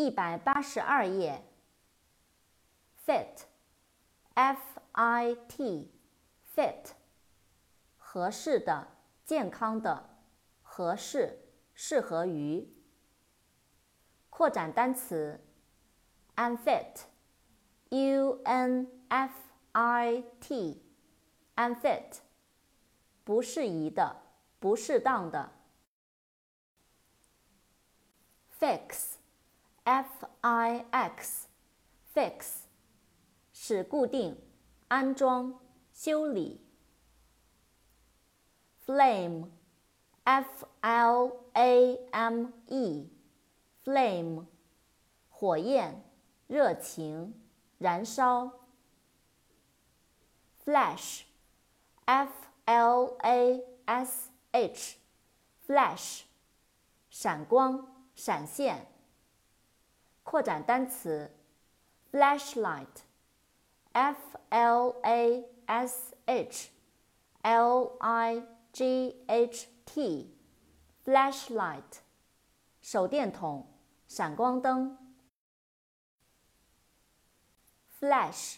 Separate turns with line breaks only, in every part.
182页 fit F-I-T fit 合适的、健康的、合适、适合于。扩展单词 unfit U-N-F-I-T unfit 不适宜的、不适当的。fix F-I-X fix 使固定、安装、修理。flame F-L-A-M-E flame 火焰、热情、燃烧。flash F-L-A-S-H flash 闪光、闪现。扩展单词 flashlight F-L-A-S-H-L-I-G-H-T flashlight 手电筒、闪光灯。flash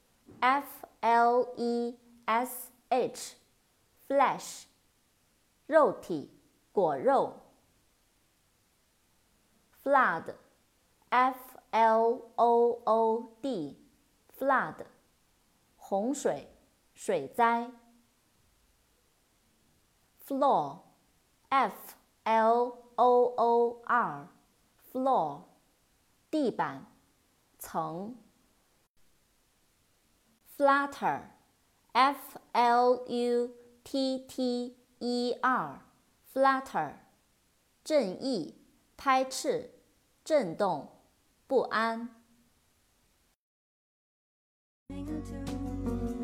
F-L-E-S-H flash 肉体、果肉。flood F-L-O-O-D flood 洪水、水灾。floor F-L-O-O-R floor 地板、层。flutter F-L-U-T-T-E-R flutter 震翼、拍翅、震动、不安。